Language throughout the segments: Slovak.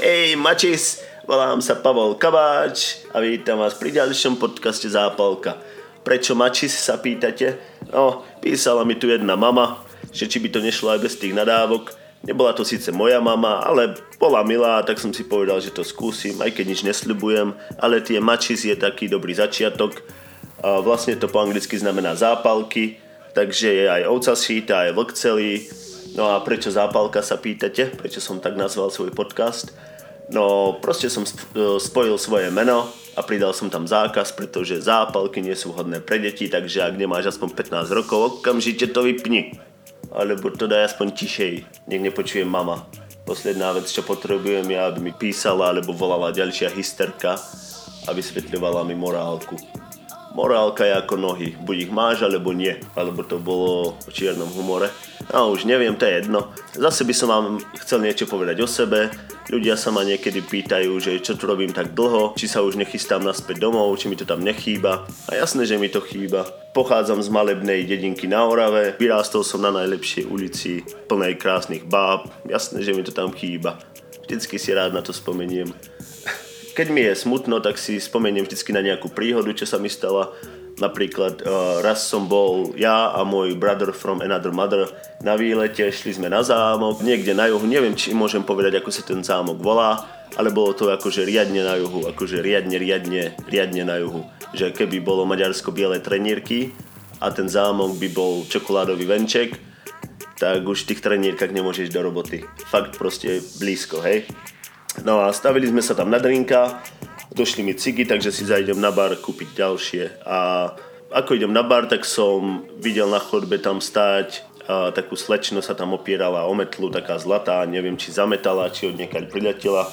Hej, Mačis, volám sa Pavol Kabáč a vítam vás pri ďalšom podcaste Zápalka. Prečo Mačis, sa pýtate? No, písala mi tu jedna mama, že či by to nešlo aj bez tých nadávok. Nebola to síce moja mama, ale bola milá, tak som si povedal, že to skúsim, aj keď nič nesľubujem, ale tie Mačis je taký dobrý začiatok. Vlastne to po anglicky znamená zápalky, takže je aj ovca šíta, aj vlk celý. No a prečo zápalka, sa pýtate? Prečo som tak nazval svoj podcast? No proste som spojil svoje meno a pridal som tam zákaz, pretože zápalky nie sú vhodné pre deti, takže ak nemáš aspoň 15 rokov, okamžite to vypni. Alebo to daj aspoň tišej, nech nepočujem mama. Posledná vec, čo potrebujem je, aby mi písala alebo volala ďalšia hysterka a vysvetľovala mi morálku. Morálka je ako nohy, buď ich máš alebo nie, alebo to bolo o čiernom humore. No už neviem, to je jedno. Zase by som vám chcel niečo povedať o sebe. Ľudia sa ma niekedy pýtajú, že čo tu robím tak dlho, či sa už nechystám naspäť domov, či mi to tam nechýba. A jasné, že mi to chýba. Pochádzam z malebnej dedinky na Orave, vyrástol som na najlepšej ulici, plnej krásnych báb. Jasné, že mi to tam chýba. Vždycky si rád na to spomeniem. Keď mi je smutno, tak si spomeniem vždycky na nejakú príhodu, čo sa mi stala. Napríklad raz som bol ja a môj brother from another mother na výlete, šli sme na zámok, niekde na juhu, neviem, či môžem povedať, ako sa ten zámok volá, ale bolo to akože riadne na juhu, akože riadne na juhu. Že keby bolo Maďarsko biele trenírky a ten zámok by bol čokoládový venček, tak už v tých trenírkach nemôžeš do roboty. Fakt proste blízko, hej. No a stavili sme sa tam na drinka, došli mi cigy, takže si zajdem na bar kúpiť ďalšie. A ako idem na bar, tak som videl na chodbe tam stáť takú slečnu, sa tam opierala o metlu, taká zlatá, neviem, či zametala, či od niekaľ priletela.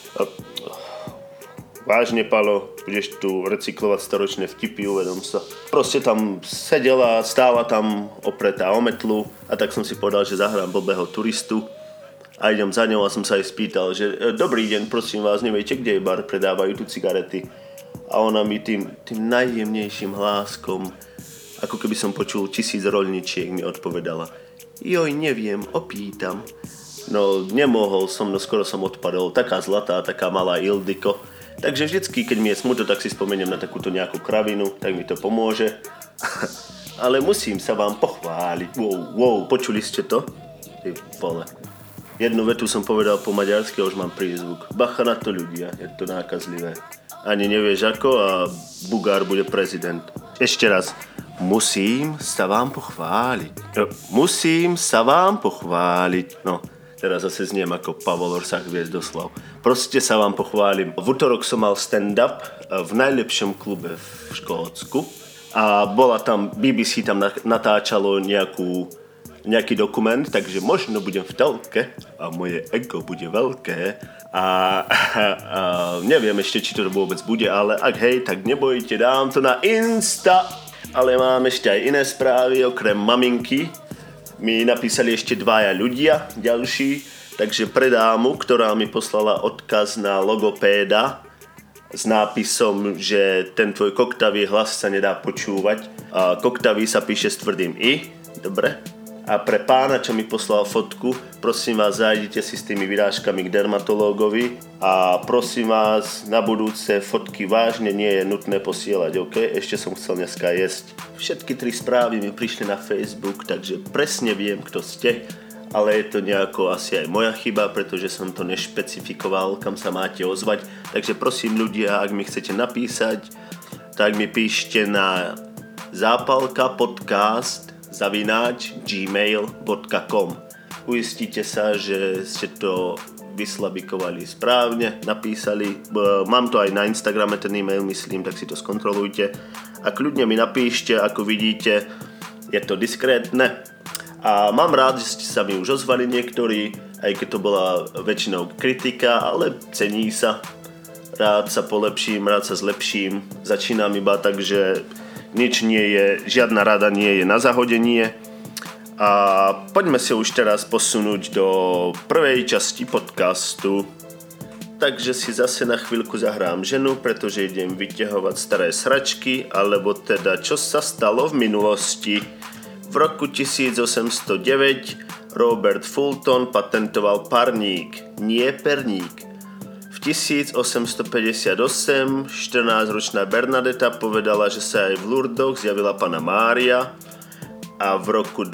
Vážne, Palo, budeš tu recyklovať storočné vtipy, uvedom sa. Proste tam sedela, stála tam opretá o metlu a tak som si povedal, že zahrám blbého turistu. A idem za ňou a som sa aj spýtal, že dobrý deň, prosím vás, neviete, kde je bar, predávajú tu cigarety. A ona mi tým najjemnejším hláskom, ako keby som počul 1000 roľničiek, mi odpovedala: joj, neviem, opýtam. No, nemohol som, no skoro som odpadol, taká zlatá, taká malá Ildiko. Takže vždycky, keď mi je smutno, tak si spomeniem na takúto nejakú kravinu, tak mi to pomôže. Ale musím sa vám pochváliť. Wow, počuli ste to? Ty vole. Jednu vetu som povedal po maďarsky a už mám prízvuk. Bacha na to, ľudia, je to nákazlivé. Ani nevieš ako a Bugár bude prezident. Ešte raz. Musím sa vám pochváliť. Musím sa vám pochváliť. No, teraz zase zniem ako Pavol Orsák Hviezdoslav. Proste sa vám pochválim. V utorok som mal stand-up v najlepšom klube v Škótsku a bola tam, BBC tam natáčalo nejaký dokument, takže možno budem v telke a moje ego bude veľké a neviem ešte, či to vôbec bude, ale ak hej, tak nebojte, dám to na Insta. Ale mám ešte aj iné správy, okrem maminky mi napísali ešte dvaja ľudia ďalší, takže pre dámu, ktorá mi poslala odkaz na logopéda s nápisom, že ten tvoj koktavý hlas sa nedá počúvať. A koktavý sa píše s tvrdým I, dobre? A pre pána, čo mi poslal fotku, prosím vás, zajdite si s tými vyrážkami k dermatológovi a prosím vás, na budúce fotky vážne nie je nutné posielať, ok? Ešte som chcel dneska jesť. Všetky 3 správy mi prišli na Facebook, takže presne viem, kto ste, ale je to nejako asi aj moja chyba, pretože som to nešpecifikoval, kam sa máte ozvať. Takže prosím ľudia, ak mi chcete napísať, tak mi píšte na zapalkapodcast@gmail.com. Uistite sa, že ste to vyslabikovali správne, napísali. Mám to aj na Instagrame, ten e-mail myslím, tak si to skontrolujte. A kľudne mi napíšte, ako vidíte, je to diskrétne. A mám rád, že ste sa mi už ozvali niektorí, aj keď to bola väčšinou kritika, ale cení sa. Rád sa polepším, rád sa zlepším. Začínam iba tak, že nič nie je, žiadna rada nie je na zahodenie. A poďme sa už teraz posunúť do prvej časti podcastu. Takže si zase na chvíľku zahrám ženu, pretože idem vyťahovať staré sračky, alebo teda čo sa stalo v minulosti. V roku 1809 Robert Fulton patentoval parník, nie perník. 1858 14-ročná Bernadeta povedala, že sa aj v Lurdoch zjavila Panna Mária a v roku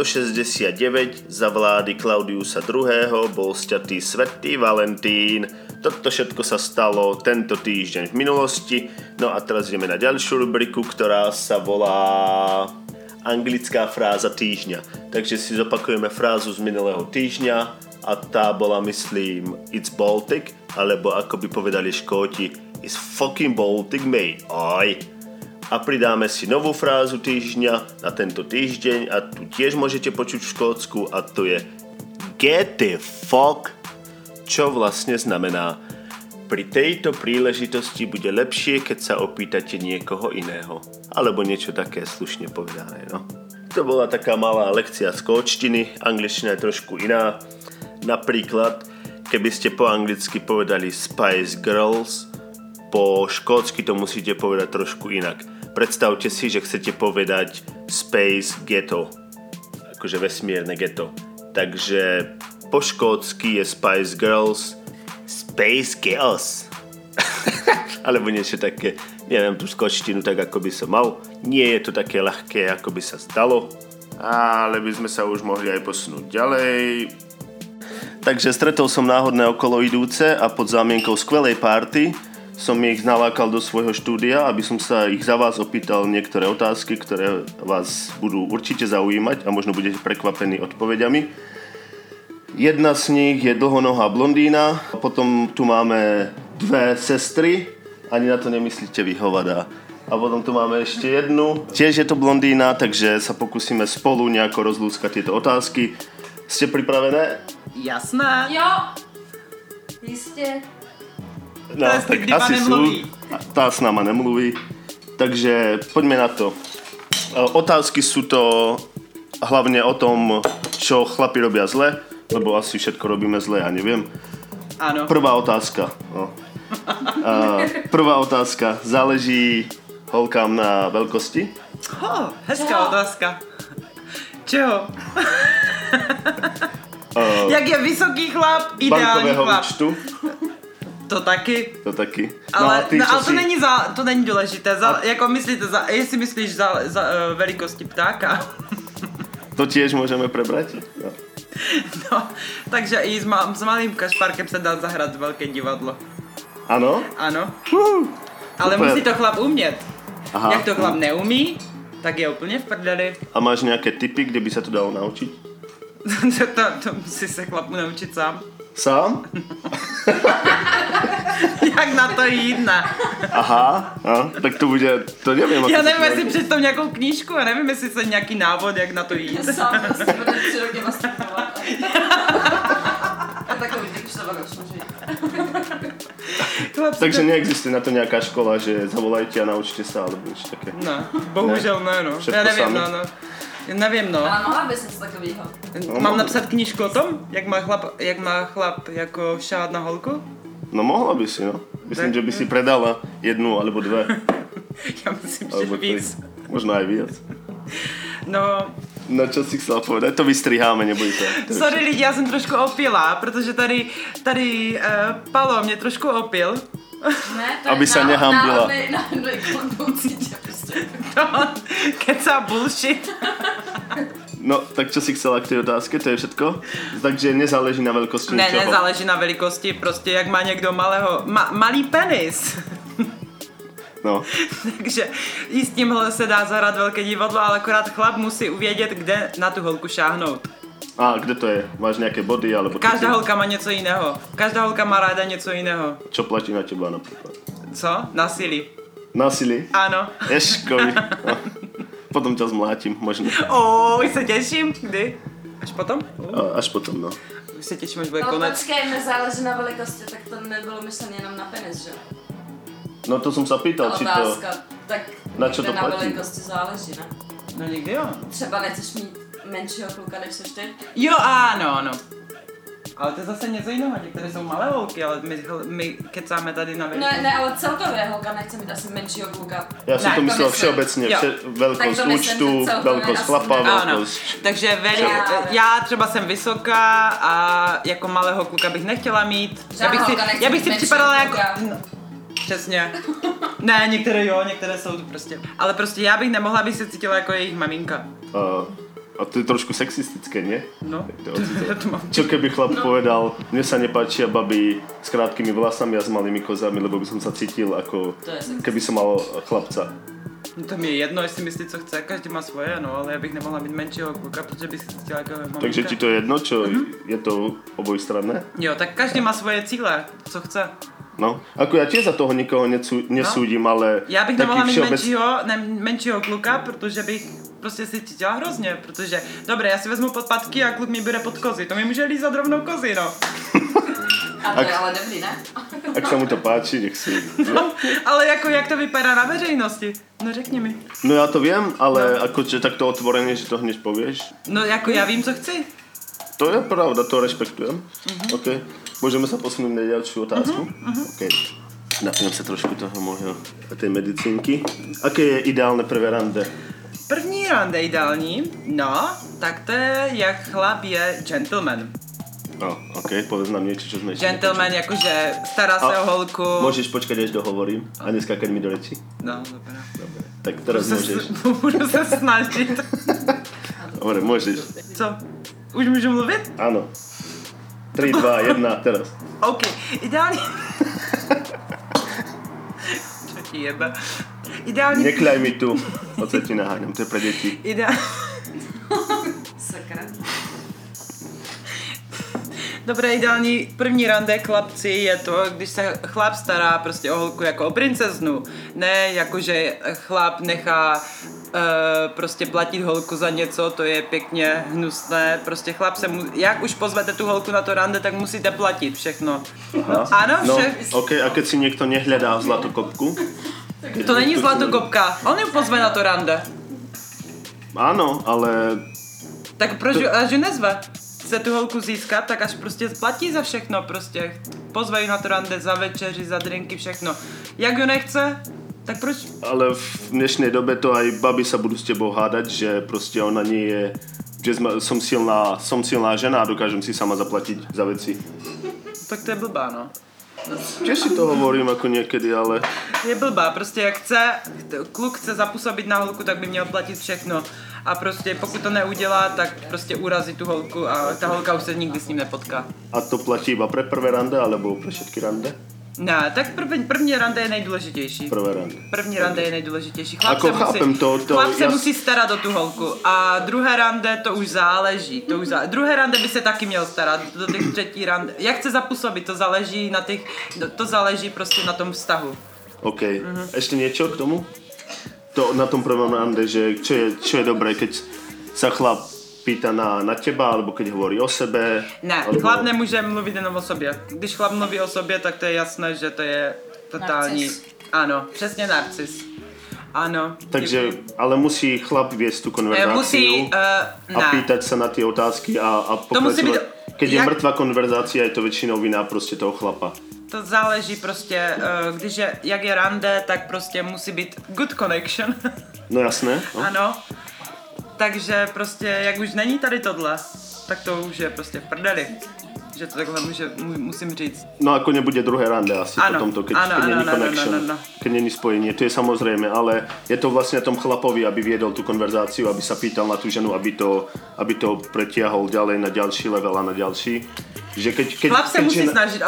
269 za vlády Klaudiusa II. Bol sťatý svätý Valentín. Toto všetko sa stalo tento týždeň v minulosti. No a teraz ideme na ďalšiu rubriku, ktorá sa volá anglická fráza týždňa. Takže si zopakujeme frázu z minulého týždňa a tá bola, myslím, It's Baltic, alebo ako by povedali Škóti, It's fucking Baltic, mate. Oj. A pridáme si novú frázu týždňa na tento týždeň a tu tiež môžete počuť v Škótsku a to je Get the fuck, čo vlastne znamená pri tejto príležitosti bude lepšie, keď sa opýtate niekoho iného. Alebo niečo také slušne povedané, no. To bola taká malá lekcia z škótštiny, angličtina je trošku iná. Napríklad, keby ste po anglicky povedali Spice Girls, po škótsky to musíte povedať trošku inak. Predstavte si, že chcete povedať Space Ghetto, akože vesmírne ghetto. Takže po škótsky je Spice Girls Space Girls. Alebo niečo také, neviem tú škótštinu tak, ako by som mal. Nie je to také ľahké, ako by sa zdalo, ale by sme sa už mohli aj posunúť ďalej. Takže stretol som náhodné okolo idúce a pod zámienkou skvelej party som ich nalákal do svojho štúdia, aby som sa ich za vás opýtal niektoré otázky, ktoré vás budú určite zaujímať a možno budete prekvapení odpoveďami. Jedna z nich je dlhonohá blondína, potom tu máme dve sestry, ani na to nemyslíte vy, hovada. A potom tu máme ešte jednu, tiež je to blondína, takže sa pokúsime spolu nejako rozlúskať tieto otázky. Ste pripravené? Jasné. Jo, jistě. No, tak asi sú. Tá s náma nemluví. Takže poďme na to. Otázky sú to hlavne o tom, čo chlapi robia zle, lebo asi všetko robíme zle, ja neviem. Áno. Prvá otázka. No. Prvá otázka. Záleží holkám na veľkosti? Hezká otázka. Čeho? Jak je vysoký chlap, ideální bankového chlap. účtu? To taky. To taky. Ale, ty, ale si... to není důležité. Jako myslíte, jestli myslíš za velikosti ptáka. To tiež môžeme prebrať? No. No, takže i s malým kašparkem se dá zahrát velké divadlo. Ano? Ano. Ale super. musí to chlap umět. Aha. Jak to chlap neumí, tak je úplně v prdeli. A máš nejaké tipy, kde by sa to dalo naučiť? to musí se chlapu naučit sám. Sám? Jak na to jít, ne? Aha, tak to bude, to neviem. Já nevím, jestli přečtou nějakou knížku, já nevím, jestli se nějaký návod, jak na to jít. Sám prostě bude 3 roky nastupovat. A takový typ už to už může jít. Takže neexistuje na to nejaká škola, že zavolajte a naučte sa, alebo niečo také. No, bohužel ne, no. Všetko Já nevím, sami? no. Já nevím, no. Ale mohla bys něco takovýho. Mám napsat knížku o tom, jak má chlap jako šát na holku? No mohla by si, no. Myslím, že by si predala jednu alebo dve. Já myslím, že Alebo víc. tri. Možno aj viac. No, No čo si chcela povedať? To vystriháme, nebojte. sorry lidi, já jsem trošku opila, protože tady Palo mě trošku opil. Ne, to Aby je sa nehambila. náhodnej konboucí tě prostě. To kecá bullshit. No, tak čo si chcela k tej otázke? To je všetko? Takže nezáleží na veľkosti Ne, ničoho? nezáleží na velikosti, prostě jak má někdo malý penis. No. Takže i s tímhle se dá zahrát velké divadlo, ale akorát chlap musí uvědět, kde na tu holku šáhnout. A kde to je? Máš nejaké body? Alebo Každá holka má něco jiného. Každá holka má ráda něco jiného. Čo platí na teba napríklad? Co? Násilí. Násilí? Ano. Ješkovi. No. Potom ťa zmlátim, možno. Už se těším. Kdy? Až potom? Až potom, no. Už se těším, až bude Ale konec. počkej, nezáleží na velikosti, tak to nebylo myšlené jenom na penis, že? No to som sa pýtal, či to... Otázka, tak Na čo to na platí? velikosti záleží, ne? No nikdy jo. Třeba nechceš mít menšího kluka, než seš ty? Jo, ano, ano. Ale to je zase něco jiného, některé jsou malé holky, ale my kecáme tady na No, ne, ale celkově holka nechce mít asi menšího kluka. Já si Ne, to to myslel myslím. všeobecně, Jo. velkost Tak to myslím, účtu, že celkově velkost asi chlapa, ne. Ano, velkost... takže já třeba jsem vysoká a jako malého kluka bych nechtěla mít. Já bych si připadala jako... No, přesně. Ne, některé jsou tu prostě. Ale prostě já bych nemohla, abych se cítila jako jejich maminka. A to je trošku sexistické, nie? No, To mám. Čo keby chlap povedal, mne sa nepáčia baby s krátkými vlasami a s malými kozami, lebo by som sa cítil ako keby som mal chlapca. No to mi je jedno, jestli myslí, co chce, každý má svoje, no, ale já bych nemohla mít menšího kluka, protože bych se cítila jako maminka. Takže ti to je jedno, čo je to obojstranné? Jo, tak každý má svoje cíle, co chce. No, ako ja tiež za toho nikoho nesúdim, ale Já bych taký nemohla mít všeobec... menšího kluka, protože bych prostě si cítila hrozně, protože, dobré, já si vezmu podpatky a kluk mi bude pod kozy, to mi může lízat rovnou kozy, no. A to je ale dobrý, ne? Ak sa mu to páči, nech si... No, ale jako jak to vypadá na veřejnosti? No řekni mi. No ja to viem, ale akože takto otvorene, že to hneď povieš. No jako já vím, co chci. To je pravda, to rešpektujem. OK. Môžeme sa posunúť na ďalšiu otázku? OK. Napijem sa trošku toho môjho, tej medicínky. Aké je ideálne prvé rande? První rande ideální, no, tak to je, jak chlap je gentleman. No, OK, povedz nám niečo, čo sme ešte Gentleman, jakože stará se o holku. Môžeš počkať, až dohovorím a neskákať mi do reči? No, dobré. Tak teraz môžeš. Budu se snažit. Dobre, môžeš. Co? Už můžu mluvit? Áno. 3, 2, 1, teraz. OK, ideální... Čo ti jebe? Ideální... Nekľaj mi tu. Oce ti naháňam, to je pre deti. Sakra. Dobré, ideální první rande chlapci je to, když se chlap stará prostě o holku jako o princeznu. Ne, jakože chlap nechá prostě platit holku za něco, to je pěkně hnusné. Prostě chlap se jak už pozvete tu holku na to rande, tak musíte platit všechno. Aha. Ano, No, vše. OK, a keď si niekto nehľadá zlatokopku? To není zlatokopka, on ju pozve na to rande. Áno, ale... Tak proč až ju nezve? Chce tu holku získat, tak až prostě platí za všechno, prostě pozve ju na to rande, za večeři, za drinky, všechno. Jak ju nechce, tak proč? Ale v dnešnej dobe to aj baby sa budú s tebou hádať, že proste ona nie je... Že som silná žena a dokážem si sama zaplatiť za veci. Tak to je blbá, no. Tiež si to hovorím ako niekedy, ale... Je blbá, prostě jak kluk chce zapůsobit na holku, tak by měl platit všechno. A prostě pokud to neudělá, tak prostě urazí tu holku a ta holka už se nikdy s ním nepotká. A to platí iba pre prvé rande, alebo pre všetky rande? Ne, tak první rande je nejdůležitější. Prvé rande. První rande je nejdůležitější. Ako chápem to Chlap se ja... musí starat o tu holku a druhé rande to už záleží. Druhé rande by se taky měl starat, do těch třetí rande. Jak chce zapůsobit, to záleží na těch, to záleží prostě na tom vztahu. OK. Ešte niečo k tomu? To na tom prvom rande, že čo je dobré, keď sa chlap pýta na teba, alebo keď hovorí o sebe. Ne, alebo... chlap nemůže mluvit jenom o sobě. Když chlap mluví o sobě, tak to je jasné, že to je totální... Narcis. Ano, přesně narcis. Ano. Takže, ale musí chlap viesť tú konverzáciu Musí, a pýtať sa na tie otázky a pokračovať. Keď je mŕtva konverzácia, je to väčšinou vina prostě toho chlapa. To záleží prostě, když je, jak je rande, tak prostě musí být good connection. No jasné. No. Ano. Takže prostě, jak už není tady tohle, tak to už je prostě v prdeli. Že to takhle musím říct. No ako nebude druhé rande asi ano, potom to, keď není connection, keď není spojenie, to je samozrejme, ale je to vlastne na tom chlapovi, aby viedol tú konverzáciu, aby sa pýtal na tú ženu, aby to pretiahol ďalej na ďalší level a na ďalší. Že keď chlap se musí snažit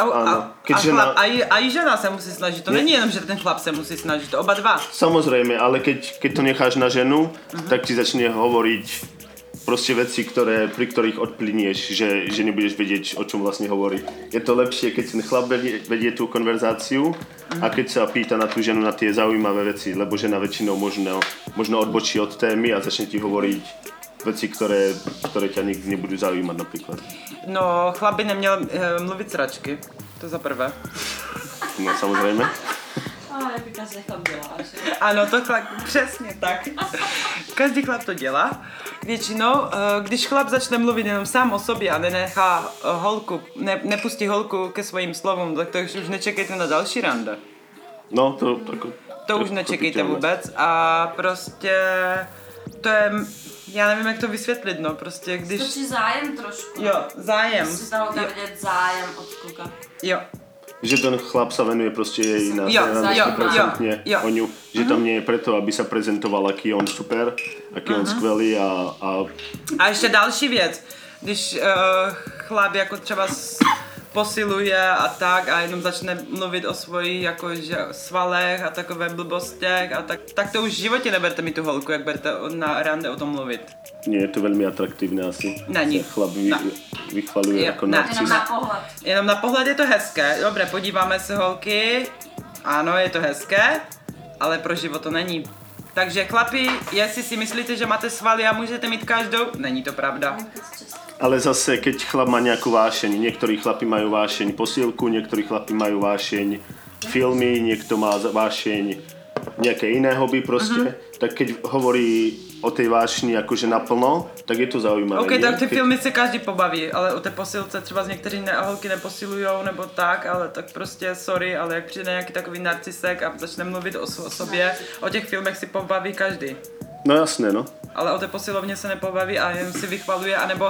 a i žena se musí snažit. To není jenom, že ten chlap se musí snažit, to oba dva. Samozrejme, ale keď to necháš na ženu, tak ti začne hovoriť proste veci, pri ktorých odplynieš, že nebudeš vedieť, o čom vlastne hovorí. Je to lepšie, keď ten chlap vedie tú konverzáciu a keď sa pýta na tú ženu na tie zaujímavé veci, lebo žena väčšinou možno odbočí od témy a začne ti hovoriť veci, ktoré ťa nikdy nebudú zaujímať napríklad. No, chlap by neměl mluvit sračky, to za prvé. No, samozrejme. Jak každý chlap dělá. Ano, to chlap, přesně tak. Každý chlap to dělá. většinou, když chlap začne mluvit jenom sám o sobě a nenechá holku, nepustí holku ke svým slovům, tak to už nečekejte na další rande. No, To už nečekejte vůbec a prostě to je, já nevím, jak to vysvětlit, no, prostě když... Stačí zájem trošku. Jo, zájem. Musí tam vidět zájem od kluka. Jo. Že ten chlap sa venuje proste jej na Jo, 100% jo. o ňu. Že tam nie je preto, aby sa prezentoval, aký je on super, aký je on skvelý A ještě další věc, když chlap jako třeba posiluje a tak a jenom začne mluvit o svojich jakože svalech a takové blbostech a tak to už v životě neberte mi tu holku, jak budete na rande o tom mluvit. Nie je to veľmi atraktívne asi. Není. Chlap vychvaluje jako narcis. Jenom na pohled. Jenom na pohled je to hezké. Dobré, podíváme se holky. Ano, je to hezké, ale pro život to není. Takže chlapi, jestli si myslíte, že máte svaly a můžete mít každou, není to pravda. Ale zase, keď chlap má nejakú vášeň, niektorí chlapi majú vášeň posilku, niektorí chlapi majú vášeň filmy, niekto má vášeň nejaké iné hobby proste, tak keď hovorí o tej vášni akože naplno, tak je to zaujímavé. OK, tak ty filmy se každý pobaví, ale o té posilce třeba z některých holky neposilujou nebo tak, ale tak prostě sorry, ale jak přijde nějaký takový narcisek a začne mluvit o sobě, o těch filmech si pobaví každý. No jasné, no. Ale o té posilovně se nepobaví a jen si vychvaluje, anebo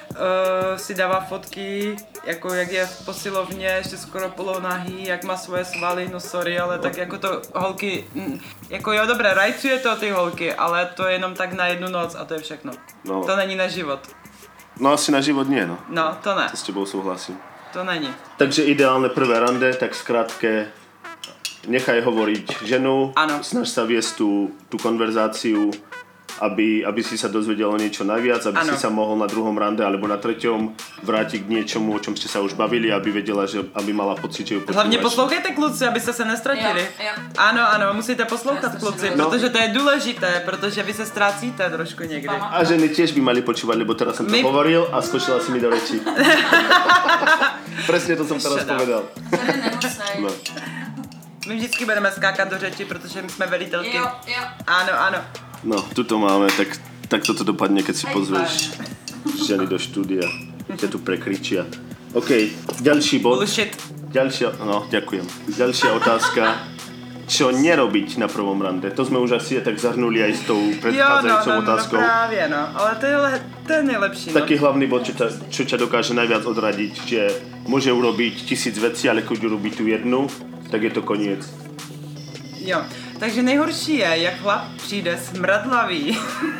si dává fotky, jako jak je v posilovně, ještě skoro polonahý, jak má svoje svaly, no sorry, ale tak jako to holky, jako jo dobré, rajcuje to ty holky, ale to je jenom tak na jednu noc a to je všechno. No. To není na život. No asi na život nie, no. No, to ne. To s tebou súhlasím. To není. Takže ideálne prvé rande, tak skrátke nechaj hovoriť ženu, Áno. snaž sa viesť tú konverzáciu, aby si sa dozvedel o niečo najviac, aby si sa mohol na druhom rande alebo na treťom vrátiť k niečomu, o čom ste sa už bavili, aby vedela, že aby mala pocit, že ju počúvaš. Hlavně poslouchejte kluci, abyste se nestratili. Jo. Ano, musíte poslouchat kluci, No. protože to je důležité, protože vy se ztrácíte trošku někdy. A ženy tiež by mali počúvať, lebo teraz som to hovoril a skočila si mi do reči. Presne to som teraz povedal. Ženy nemusej. No. My vždycky budeme skákat do řeči, protože my jsme velitelky. Jo. Ano. No, tuto máme, tak toto dopadne, keď si pozveš ženy do štúdia. Ťa tu prekričia. OK, ďalší bod. Bullshit. Ďakujem. Ďalšia otázka. Čo nerobiť na prvom rande? To sme už asi tak zahrnuli aj s tou predchádzajúcou otázkou. No právě, no. Ale to je nejlepší. Taký hlavný bod, čo ťa dokáže najviac odradiť, že môže urobiť 1000 vecí, ale keď urobí tú jednu, tak je to koniec. Jo, takže nejhorší je, jak chlap přijde smradlavý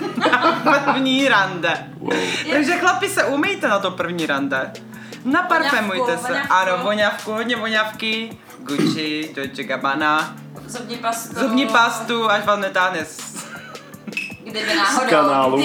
na první rande. Wow. Takže chlapi se umýjte na to první rande. Naparfémujte se. Voňavku. Ano, voňavku, hodně voňavky. Gucci, Dolce Gabbana. Zubní pastu, až vám netáhne Kdyby náhodou. Z kanálu.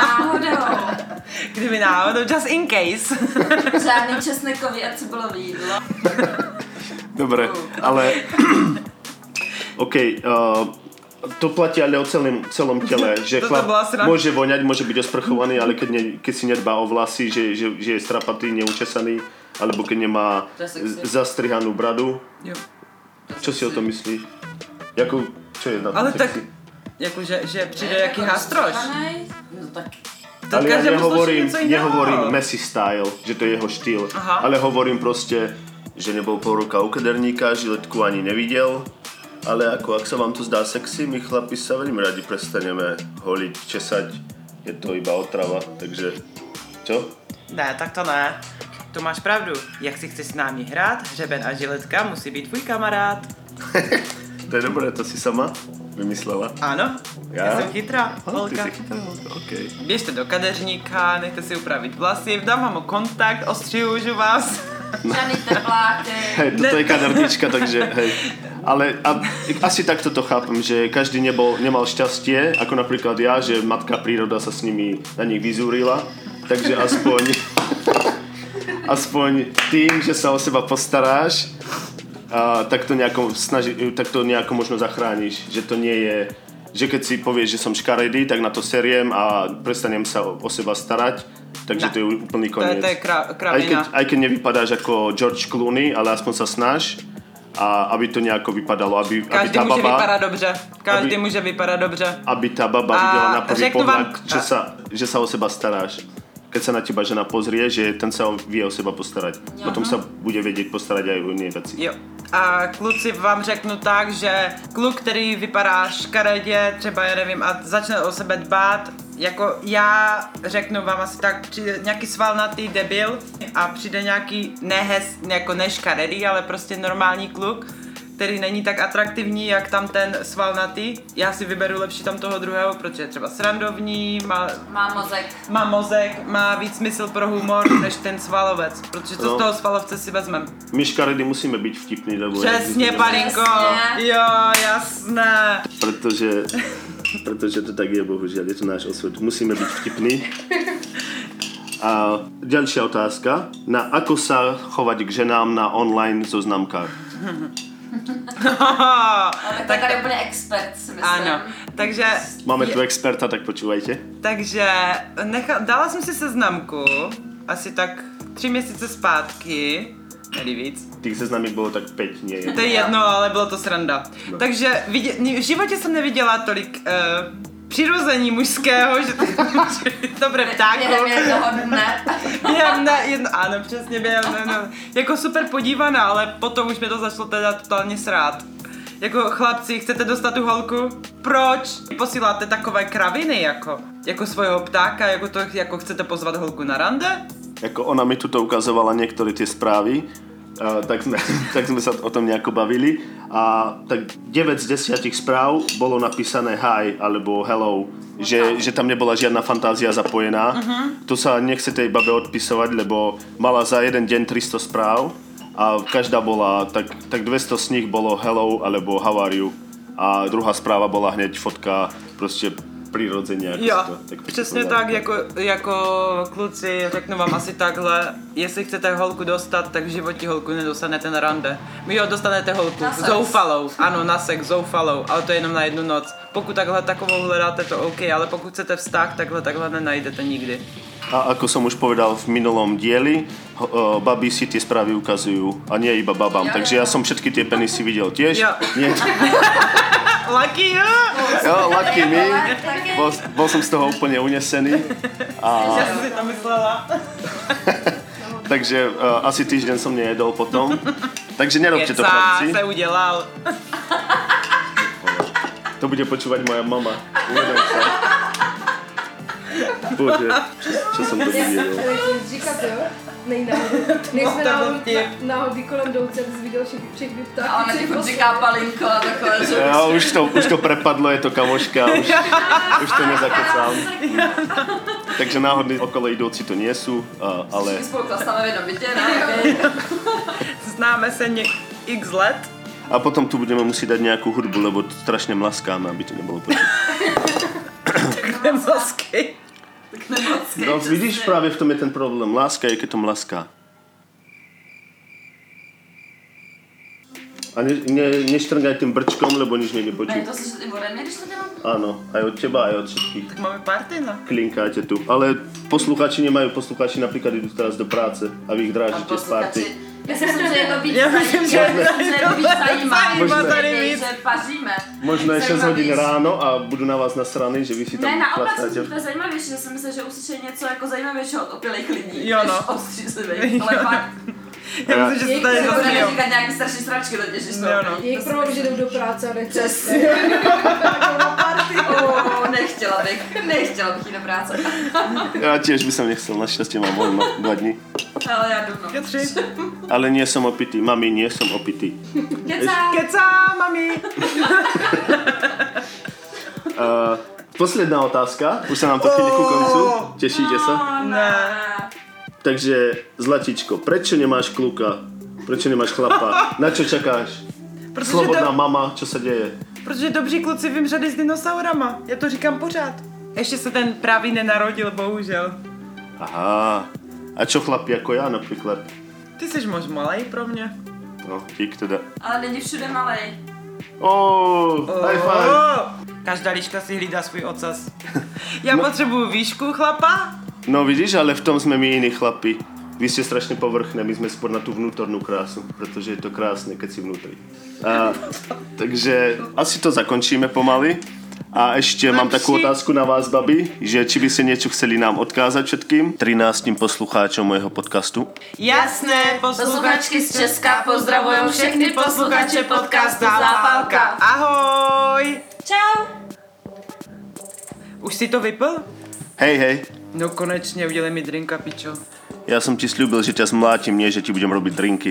Kdyby náhodou, just in case. Žádný česnekový a cibulový jídlo. Dobre, ale OK, to platí ale o celom tele, že Toto chlap bola sranda. môže voňať, môže byť osprchovaný, ale keď si nedbá o vlasy, že je strapatý, neučesaný, alebo keď nemá To je sexy. zastrihanú bradu. Jo. Čo si o tom myslíš? Čo je na tom Ale tak, sexy? jakože že přijde jaký hástroš. No tak. To Ale ja každému sluší něco jiného. nehovorím messy style, že to je jeho štýl, Aha. ale hovorím proste, že nebol pol roka u kaderníka, žiletku ani nevidel, ale ak sa vám to zdá sexy, my chlapi sa veľmi radi prestaneme holiť, česať, je to iba otrava, takže čo? Ne, tak to ne. To máš pravdu. Jak si chceš s námi hrát, hřeben a žiletka musí být tvůj kamarád. To je dobré, to si sama vymyslela. Ano, já jsem chytrá Ty holka. si chytrá holka, okej. Běžte do kadeřníka, nechte si upravit vlasy, dám vám kontakt, ostřihužu vás. Žádný tepláky. Hej, toto je kadernička, takže hej. Ale asi takto to chápem, že každý nemal šťastie, ako napríklad ja, že matka príroda sa s nimi na nich vyzúrila, takže aspoň tým, že sa o seba postaráš, tak to nejako možno zachrániš, že to nie je, že keď si povieš, že som škaredý, tak na to seriem a prestanem sa o seba starať, takže to je úplný koniec. To je kravina. Aj keď nevypadáš ako George Clooney, ale aspoň sa snaž a aby to nejako vypadalo, aby Každý tá může baba... vypadat dobře. Každý může vypadat dobře. Aby tá baba A videla na prvý řeknu vám- pohľad, že sa o seba staráš. Keď sa na teba žena pozrie, že ten sa vie o seba postarať. Potom sa bude vedieť postarať aj o iné veci. Jo. A kluci vám řeknu tak, že kluk, který vypadá škaredě, třeba já nevím, a začne o sebe dbát, jako já řeknu vám asi tak, přijde nějaký svalnatý debil a přijde nějaký jako neškaredý, ale prostě normální kluk, který není tak atraktivní, jak tam ten svalnatý. Já si vyberu lepší tam toho druhého, protože je třeba srandovní, má mozek, má víc smysl pro humor, než ten svalovec, protože co z toho svalovce si vezmem? My škaredy musíme byť vtipní, lebo... Přesně, Palinko! Přesně. Jo, jasné. Pretože to tak je, bohužiaľ, je to náš osud. Musíme byť vtipní. A ďalšia otázka. Ako sa chovať k ženám na online zoznamkách? Ale tak tady úplně expert, si myslím. Ano, takže... Máme tu experta, tak počúvajte. Takže dala jsem si seznamku, asi tak 3 měsíce zpátky, tedy víc. Tých seznamík bolo tak 5, nie je. To je jedno, ale bylo to sranda. No. Takže v životě jsem neviděla tolik přirození mužského, že to bude ptáku. Během jednoho dne. Ano, přesně během jako super podívaná, ale potom už mě to začalo teda totálně srát. Jako chlapci, chcete dostat tu holku? Proč posíláte takové kraviny jako svojho ptáka, jako chcete pozvat holku na rande? Ako ona mi tuto ukazovala niektoré tie správy, tak sme sa o tom nejako bavili a tak 9 z 10 správ bolo napísané hi alebo hello, že tam nebola žiadna fantázia zapojená. To sa nechce tej babe odpisovať, lebo mala za jeden deň 300 správ a každá bola, tak 200 z nich bolo hello alebo how are you a druhá správa bola hneď fotka proste prirodzene. Jo, přesně tak, jako kluci, řeknu vám asi takhle, jestli chcete holku dostat, tak v životě holku nedostanete na rande. Jo, dostanete holku, zoufalou, ano, na sex, zoufalou, ale to je jenom na jednu noc. Pokud takhle takovou hledáte, to OK, ale pokud chcete vztah, takhle nenajdete nikdy. A ako som už povedal v minulom dieli, baby si tie správy ukazujú a nie iba babám, takže ja som všetky tie penisy videl tiež. Jo. Lucky you! Jo, lucky me. Bol som z toho úplne unesený. Ja som si to myslela. Takže asi týždeň som nejedol potom. Takže nerobte to, chlapci. Sa udelal. To bude počúvať moja mama. Uvedom sa. Bože, čo som to videl. Říkat, jo? Nejsme náhodou kolem jdouce, abys viděl všechny ptáky. A ona ti furt říká Palinko a takové, že... Jo, už to prepadlo, je to kamoška, už to nezakecám. Takže náhodní okolo idúci to nie sú, ale... My spolu klastáme v jednom bytě, ne? Známe se x let. A potom tu budeme musieť dať nejakú hudbu, lebo strašne mlaskáme, aby to nebolo počuť. Nemlsky. No vidíš, práve v tom je ten problém. Láska je, keď to mlaská. A neštrngaj tým brčkom, lebo nič nie Ne, počuť. to slyšet i ode mě, když to dělám? Áno, aj od teba, aj od všetkých. Tak máme party, no. Klinkáte tu. Ale poslucháči nemajú. Poslucháči napríklad idú teraz do práce a vy ich drážite z party. Já si myslím, že je to víc zajímavé, že paříme. Možno je 6 hodín ráno a budu na vás nasraný, že vy si tam Ne, naopak chlastáte. to je zajímavější, že si myslím, že uslyšejí něco jako zajímavějšího od opilých lidí, Jo, no. než od střízlivých, ale fakt. Já myslím, že se tady Že budeme zasmějou. říkat nějaký strašný sračky totiž, že Jo, no. Jejich problém, že jdou do práce a nechce. Přesně. Nechtěla bych jít do práce. Ja tiež by som nechcel, našťastie mám voľno 2 dní. Ale já jdu, no. Tři. Ale nie som opitý. Mami, nie som opitý. Kecá, mami. Posledná otázka. Už sa nám to chýli ku koncu. Tešíte sa? Ne. Takže, Zlatičko, prečo nemáš kluka? Prečo nemáš chlapa? Na čo čakáš? Slobodná mama, čo sa deje? Protože dobří kluci vymřeli s dinosaurama. Já to říkám pořád. Ještě se ten pravý nenarodil, bohužel. Aha. A čo chlapi ako ja napríklad? Ty jsi moc malej pro mě. No, dík teda. Ale není všude malej. High five. Každá liška si hlídá svůj ocas. Já potřebuju výšku chlapa. No vidíš, ale v tom sme my iní chlapi. Vy ste strašne povrchné, my sme skôr na tú vnútornú krásu, pretože je to krásne, keď si vnútri. Takže asi to zakončíme pomaly. A ešte mám takú otázku na vás, babi, že či by ste niečo chceli nám odkázať všetkým 13 poslucháčom mojho podcastu. Jasné, Posluchačky z Česka pozdravujem všechny posluchače podcastu Zápalka. Ahoj! Čau. Už si to vypil? Hej. No konečně, udělej mi drinka, pičo. Ja som ti sľúbil, že ťa zmlátim, nie že ti budem robiť drinky.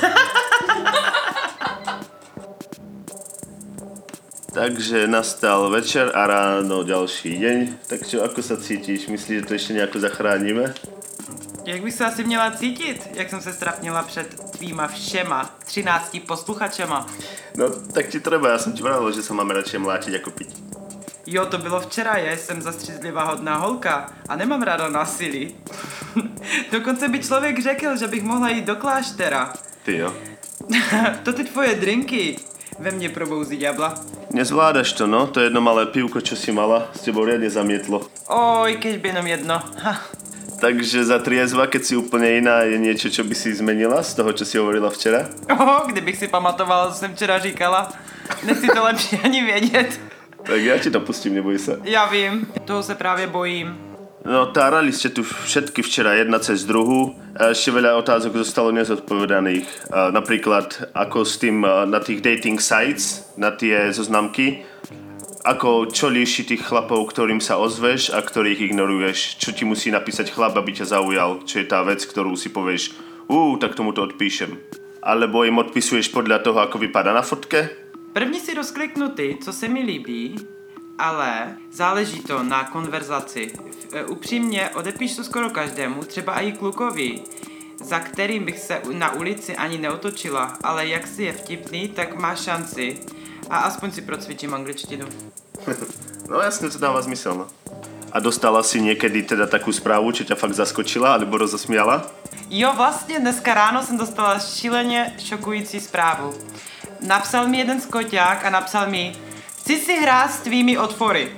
Takže nastal večer a ráno ďalší deň. Takže ako sa cítiš? Myslíš, že to ešte nejako zachránime? Jak bych se asi měla cítit, jak jsem se strapnila před tvýma všema 13 posluchačema? No, tak ti treba, ja som ti vravil, že sa máme radšej mlátiť ako piť. Jo, to bylo včera, já jsem zastřízlivá hodná holka a nemám ráda násilí. Dokonce by člověk řekl, že bych mohla jít do kláštera. Ty jo. To ty tvoje drinky ve mně probouzí ďábla. Nezvládaš to, no? To jedno malé pivko, čo si mala, s tebou riadne zamietlo. Oj, keď by jenom jedno. Ha. Takže za triezva, keď si úplne iná, je niečo, čo by si zmenila z toho, čo si hovorila včera? Kdybych si pamatovala, co jsem včera říkala. Nechci to lepší ani vědět. Tak ja ti to pustím, neboj sa. Já vím, toho se právě bojím. No, tárali ste tu všetky včera jedna cez druhú. Ešte veľa otázok zostalo nezodpovedaných. Napríklad, ako s tým na tých dating sites, na tie zoznamky, čo líši tých chlapov, ktorým sa ozveš a ktorých ignoruješ. Čo ti musí napísať chlap, aby ťa zaujal. Čo je tá vec, ktorú si povieš, tak tomu to odpíšem. Alebo im odpisuješ podľa toho, ako vypadá na fotke. První si rozkliknu ty, co se mi líbí, ale záleží to na konverzaci. Upřímně odepíš to skoro každému, třeba i klukovi, za kterým bych se na ulici ani neotočila, ale jak si je vtipný, tak má šanci. A aspoň si procvičím angličtinu. No jasne, to dáva zmysel, no. A dostala si niekedy teda takú správu, čo ťa fakt zaskočila, alebo rozosmiala? Jo, vlastně dneska ráno jsem dostala šíleně šokující zprávu. Napsal mi jeden skoťák a napsal mi: chci si hrát s tvými otvory.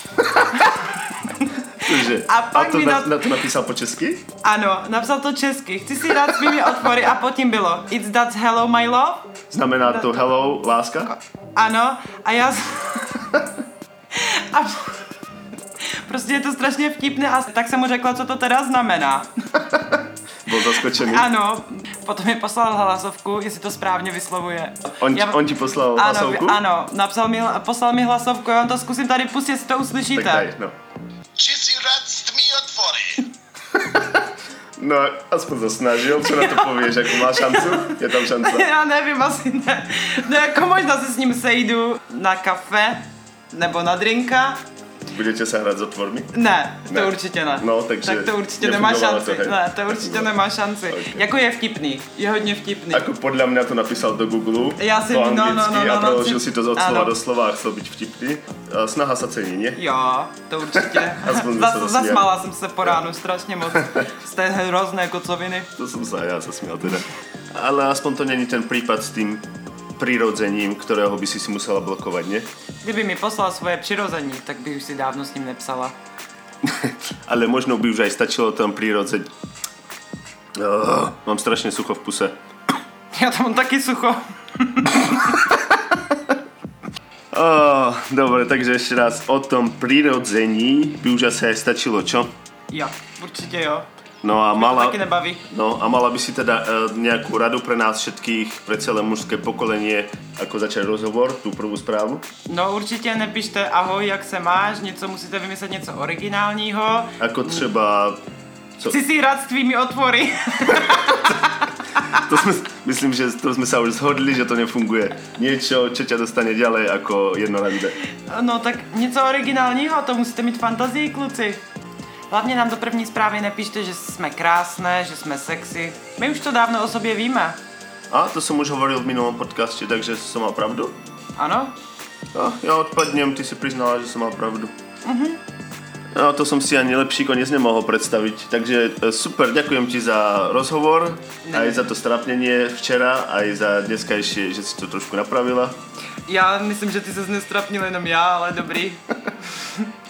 A to napísal po česky? Ano, napsal to česky. Chci si hrát s tvými otvory a potom bylo It's that hello my love. Znamená to hello, láska? Ano, a já... a prostě je to strašně vtipné a tak jsem mu řekla, co to teda znamená. Byl zaskočený. Ano, potom mi poslal hlasovku, jestli to správně vyslovuje. On ti poslal hlasovku? Ano, poslal mi hlasovku, já vám to zkusím tady pustit, jestli to uslyšíte. Tak daj, no. Či si rád s tmy otvory? No, aspoň to snažil, čo na to povieš, ako má šancu? Je tam šanca? Já nevím, asi ne. No jako možná se s ním sejdu na kafe, nebo na drinka. Budete sa hrať s otvormi? Ne, to určitě ne. No, takže tak to určitě nemá šanci. To, ne, to určitě nemá šanci. Okay. Jako je vtipný, je hodně vtipný. Ako podľa mňa to napísal do Google, po anglicky a preložil si to od slova do slova a chcel byť vtipný. Snaha sa cení, nie? Jo, to určitě. Zasmála jsem se po ránu strašně moc z té hrozné kocoviny. To som sa ja zasmial teda. Ale aspoň to není ten prípad s tým prirodzením, ktorého by si musela blokovať, nie? Kdyby mi poslal svoje přirození, tak bych už si dávno s ním nepsala. Ale možno by už aj stačilo tam prirodzenie. Mám strašne sucho v puse. Ja tam mám taky sucho. Dobre, takže ešte raz o tom prirodzení by už asi aj stačilo, čo? Jo, určite jo. No a mala by si teda nejakú radu pre nás všetkých, pre celé mužské pokolenie, ako začať rozhovor, tú prvú správu? No určitě nepište ahoj, jak se máš, něco musíte vymyslet něco originálního. Ako třeba... Chci si hrát s tvými otvory. Myslím, že to sme sa už zhodli, že to nefunguje. Niečo, čo ťa dostane ďalej ako jedno rande. No tak něco originálního, to musíte mít fantazii, kluci. Hlavně nám do první zprávy nepíšte, že jsme krásné, že jsme sexy. My už to dávno o sobě víme. A to som už hovoril v minulom podcaste, takže som mal pravdu? Ano. No, ja odpadnem, ty si priznala, že som mal pravdu. No, to som si ani lepší koniec nemohol predstaviť. Takže super, ďakujem ti za rozhovor, aj za to strapnenie včera, aj za dneskajšie, že si to trošku napravila. Já myslím, že ty ses nestrapnil jenom já, ale dobrý.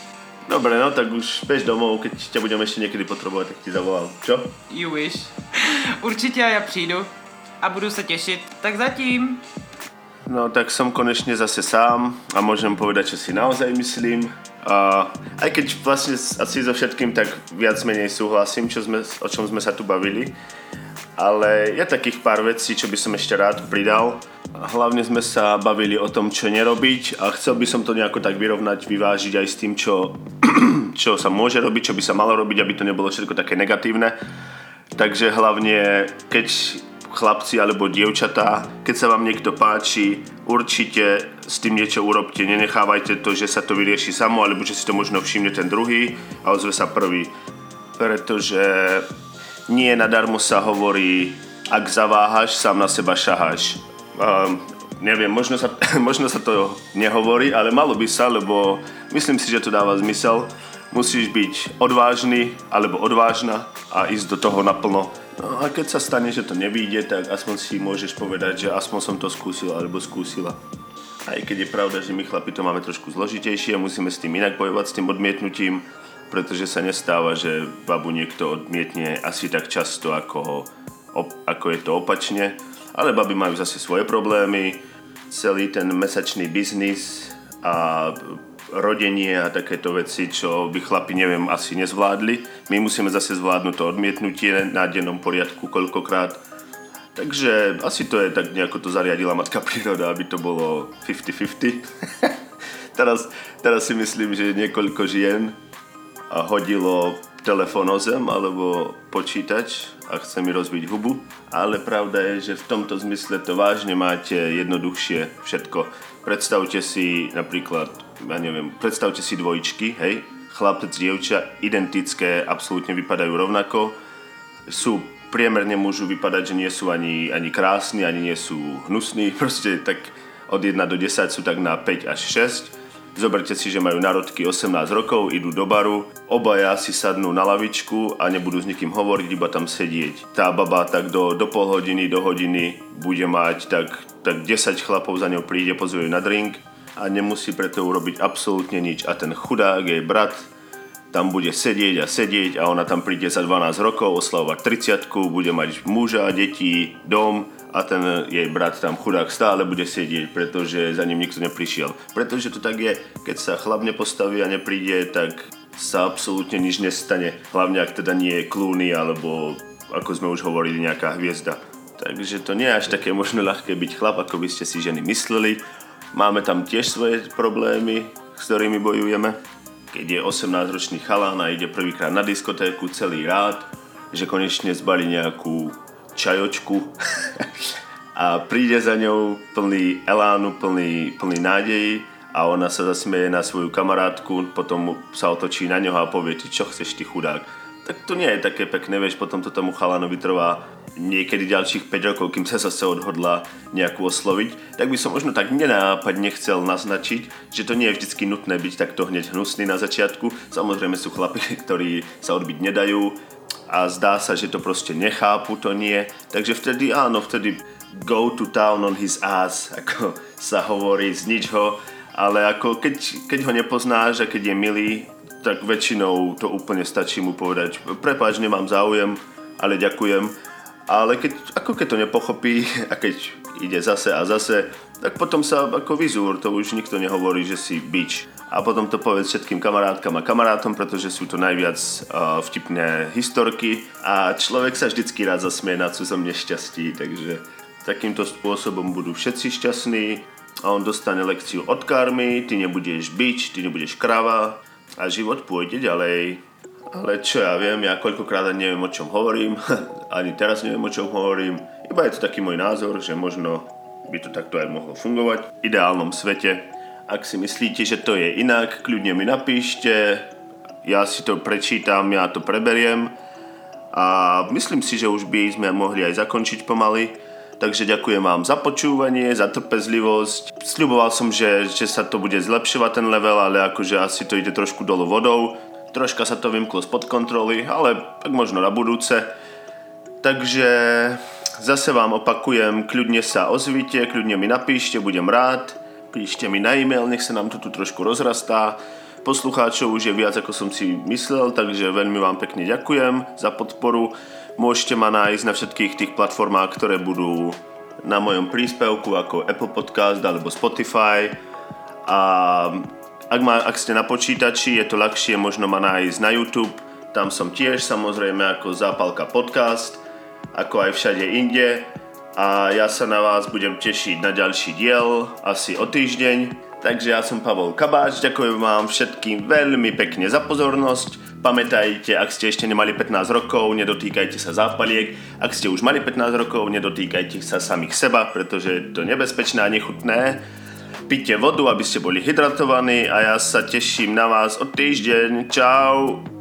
Dobre, no tak už bež domov, keď ťa budem ešte niekedy potrebovať, tak ti zavolám. Čo? You wish. Určitě já přijdu a budu se těšit. Tak zatím. No tak som konečne zase sám a môžem povedať, čo si naozaj myslím. Aj keď vlastne asi so všetkým tak viac menej súhlasím, o čom sme sa tu bavili. Ale je takých pár vecí, čo by som ešte rád pridal. Hlavne sme sa bavili o tom, čo nerobiť a chcel by som to nejako tak vyrovnať, vyvážiť aj s tým, čo sa môže robiť, čo by sa malo robiť, aby to nebolo všetko také negatívne. Takže hlavne, keď chlapci alebo dievčatá, keď sa vám niekto páči, určite s tým niečo urobte. Nenechávajte to, že sa to vyrieši samo, alebo že si to možno všimne ten druhý a ozve sa prvý. Pretože nie nadarmo sa hovorí, ak zaváhaš, sám na seba šaháš. Neviem, možno sa to nehovorí, ale malo by sa, lebo myslím si, že to dáva zmysel. Musíš byť odvážny alebo odvážna a ísť do toho naplno. No a keď sa stane, že to nevyjde, tak aspoň si môžeš povedať, že aspoň som to skúsil alebo skúsila. Aj keď je pravda, že my chlapi to máme trošku zložitejšie a musíme s tým inak bojovať, s tým odmietnutím, pretože sa nestáva, že babu niekto odmietne asi tak často, ako je to opačne. Ale baby majú zase svoje problémy, celý ten mesačný biznis a rodenie a takéto veci, čo by chlapi, neviem, asi nezvládli. My musíme zase zvládnuť to odmietnutie na dennom poriadku koľkokrát. Takže asi to je tak nejako to zariadila matka príroda, aby to bolo 50-50. teraz si myslím, že niekoľko žien hodilo telefón o zem alebo počítač a chce mi rozbiť hubu. Ale pravda je, že v tomto zmysle to vážne máte jednoduchšie všetko. Predstavte si napríklad, predstavte si dvojičky, hej, chlapec, dievča, identické, absolútne vypadajú rovnako. Priemerne môžu vypadať, že nie sú ani krásni, ani nie sú hnusní, proste tak od 1 do 10 sú tak na 5 až 6. Zoberte si, že majú narodky 18 rokov, idú do baru, obaja si sadnú na lavičku a nebudú s nikým hovoriť, iba tam sedieť. Tá baba tak do pol hodiny, do hodiny bude mať tak 10 chlapov za ňou príde, pozve ju na drink a nemusí preto urobiť absolútne nič. A ten chudák, jej brat, tam bude sedieť a ona tam príde za 12 rokov oslavovať 30-ku, bude mať muža, deti, dom a ten jej brat tam chudák stále bude sedieť, pretože za ním nikto neprišiel. Pretože to tak je, keď sa chlap nepostaví a nepríde, tak sa absolútne nič nestane. Hlavne ak teda nie je Clooney alebo, ako sme už hovorili, nejaká hviezda. Takže to nie je až také možno ľahké byť chlap, ako by ste si ženy mysleli. Máme tam tiež svoje problémy, s ktorými bojujeme. Keď je 18-ročný chalán a ide prvýkrát na diskotéku celý rád, že konečne zbalí nejakú čajočku a príde za ňou plný elánu, plný nádejí a ona sa zasmieje na svoju kamarátku, potom sa otočí na ňoho a povie, čo chceš ty chudák. Tak to nie je také pekné, vieš, potom to tomu chalánovi trvá niekedy ďalších 5 rokov, kým sa zase odhodla nejakú osloviť, tak by som možno tak nenápadne chcel naznačiť, že to nie je vždycky nutné byť takto hneď hnusný na začiatku. Samozrejme sú chlapi, ktorí sa odbiť nedajú a zdá sa, že to proste nechápu, to nie. Takže vtedy go to town on his ass, ako sa hovorí, znič ho, ale ako keď ho nepoznáš a keď je milý, tak väčšinou to úplne stačí mu povedať, prepáč, nemám záujem, ale ďakujem. Ale keď to nepochopí a keď ide zase a zase, tak potom sa ako vyzúr, to už nikto nehovorí, že si bič. A potom to povedz všetkým kamarátkam a kamarátom, pretože sú to najviac vtipné historky a človek sa vždycky rád zasmie na cudzom nešťastí, takže takýmto spôsobom budú všetci šťastní a on dostane lekciu od karmy, ty nebudeš bič, ty nebudeš krava a život pôjde ďalej. Ale čo ja viem, ja koľkokrát neviem, o čom hovorím, ani teraz neviem, o čom hovorím. Iba je to taký môj názor, že možno by to takto aj mohlo fungovať v ideálnom svete. Ak si myslíte, že to je inak, kľudne mi napíšte, ja si to prečítam, ja to preberiem a myslím si, že už by sme mohli aj zakončiť pomaly. Takže ďakujem vám za počúvanie, za trpezlivosť. Sľuboval som, že sa to bude zlepšovať ten level, ale akože asi to ide trošku dolu vodou. Troška sa to vymklo spod kontroly, ale tak možno na budúce. Takže zase vám opakujem, kľudne sa ozvite, kľudne mi napíšte, budem rád. Píšte mi na e-mail, nech sa nám to tu trošku rozrastá. poslucháčov už je viac, ako som si myslel, takže veľmi vám pekne ďakujem za podporu. Môžete ma nájsť na všetkých tých platformách, ktoré budú na mojom príspevku, ako Apple Podcast alebo Spotify. A ak ste na počítači, je to ľahšie možno ma nájsť na YouTube. Tam som tiež samozrejme ako Zápalka podcast, ako aj všade inde. A ja sa na vás budem tešiť na ďalší diel, asi o týždeň. Takže ja som Pavol Kabáč, ďakujem vám všetkým veľmi pekne za pozornosť. Pamätajte, ak ste ešte nemali 15 rokov, nedotýkajte sa zápaliek. Ak ste už mali 15 rokov, nedotýkajte sa samých seba, pretože je to nebezpečné a nechutné. Pite vodu, aby ste boli hydratovaní a ja sa teším na vás o týždeň. Čau!